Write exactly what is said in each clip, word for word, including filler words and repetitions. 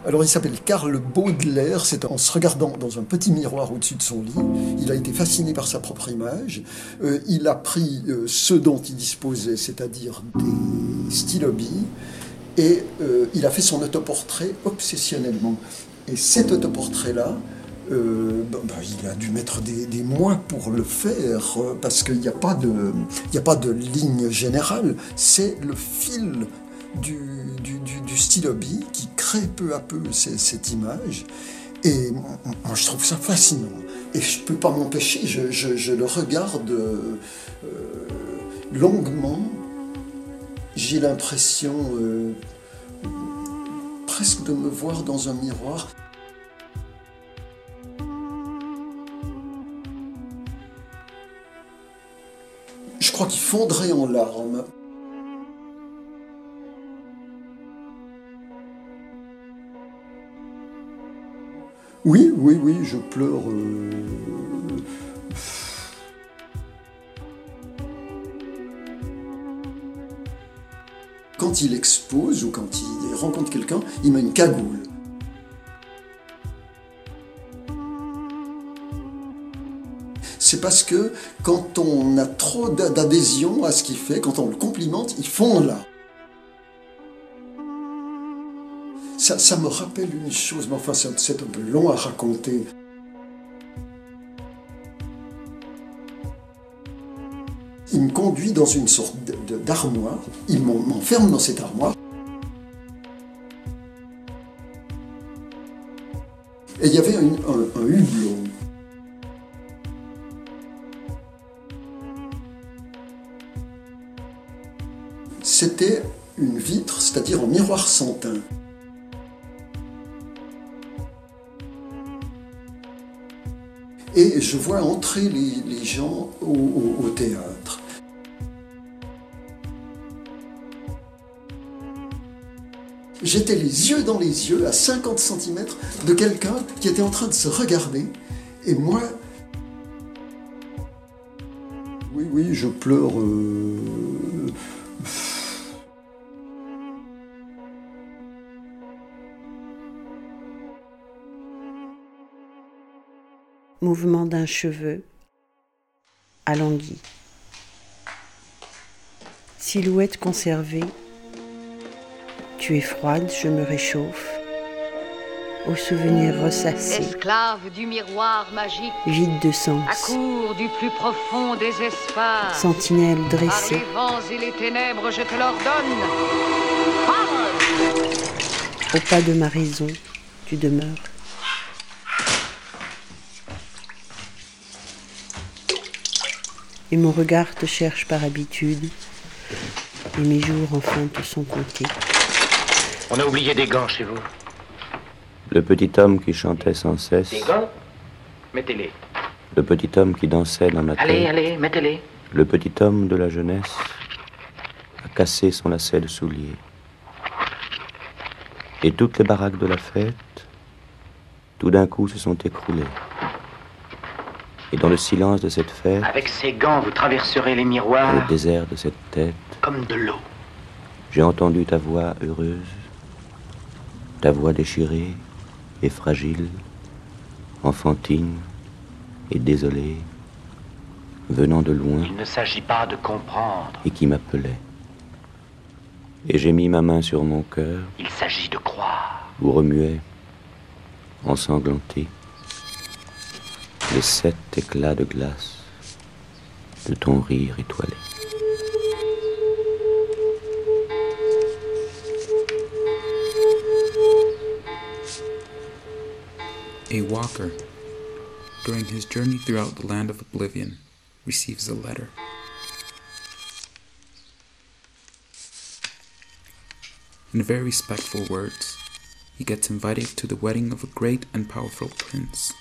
Alors il s'appelle Karl Baudelaire, c'est en se regardant dans un petit miroir au-dessus de son lit, il a été fasciné par sa propre image, euh, il a pris euh, ce dont il disposait, c'est-à-dire des stylobies, et euh, il a fait son autoportrait obsessionnellement. Et cet autoportrait-là, euh, ben, ben, il a dû mettre des, des mois pour le faire, euh, parce qu'il n'y a pas de, il n'y a pas de ligne générale, c'est le fil du, du, du, du stylobie qui crée peu à peu ces, cette image. Et moi, je trouve ça fascinant. Et je ne peux pas m'empêcher, je, je, je le regarde euh, longuement. J'ai l'impression euh, presque de me voir dans un miroir. Je crois qu'il fondrait en larmes. Oui, oui, oui, je pleure. Euh... Quand il expose ou quand il rencontre quelqu'un, il met une cagoule. C'est parce que quand on a trop d'adhésion à ce qu'il fait, quand on le complimente, il fond là. Ça, ça me rappelle une chose, mais enfin c'est un peu long à raconter. Il me conduit dans une sorte d'armoire, il m'enferme dans cette armoire. Et il y avait un, un, un hublot. C'était une vitre, c'est-à-dire un miroir sans teint. Et je vois entrer les, les gens au, au, au théâtre. J'étais les yeux dans les yeux, à cinquante centimètres de quelqu'un qui était en train de se regarder. Et moi, oui, oui, je pleure. Euh... Mouvement d'un cheveu, alangui. Silhouette conservée, tu es froide, je me réchauffe. Au souvenir ressassé, esclave du miroir magique, vide de sens, accours du plus profond des espaces, sentinelle dressée, par les vents et les ténèbres, je te l'ordonne. Parle! Au pas de ma raison, tu demeures. Et mon regard te cherche par habitude, et mes jours enfin te sont comptés. On a oublié des gants chez vous. Le petit homme qui chantait sans cesse. Des gants? Mettez-les. Le petit homme qui dansait dans ma tête. Allez, allez, mettez-les. Le petit homme de la jeunesse a cassé son lacet de soulier. Et toutes les baraques de la fête, tout d'un coup, se sont écroulées. Et dans le silence de cette fête, avec ces gants, vous traverserez les miroirs. Dans le désert de cette tête, comme de l'eau. J'ai entendu ta voix heureuse, ta voix déchirée et fragile, enfantine et désolée, venant de loin. Il ne s'agit pas de comprendre. Et qui m'appelait. Et j'ai mis ma main sur mon cœur. Il s'agit de croire. Où remuait, ensanglanté, les sept éclats de glace de ton rire étoilé. A walker, during his journey throughout the land of oblivion, receives a letter. In very respectful words, he gets invited to the wedding of a great and powerful prince.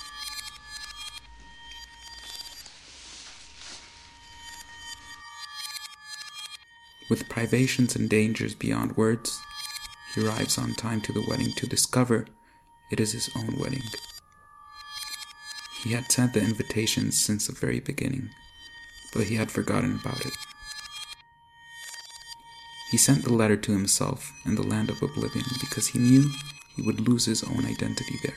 With privations and dangers beyond words, he arrives on time to the wedding to discover it is his own wedding. He had sent the invitations since the very beginning, but he had forgotten about it. He sent the letter to himself in the land of oblivion because he knew he would lose his own identity there.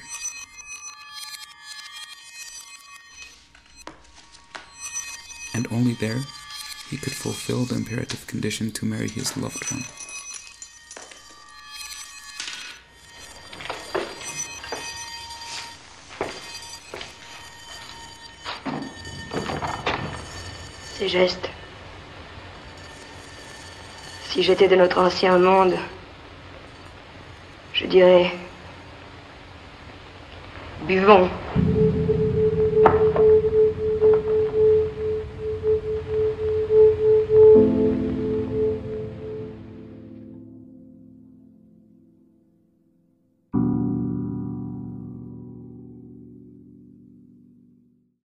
And only there he could fulfill the imperative condition to marry his loved one. Ces gestes. Si j'étais de notre ancien monde, je dirais... Buvons.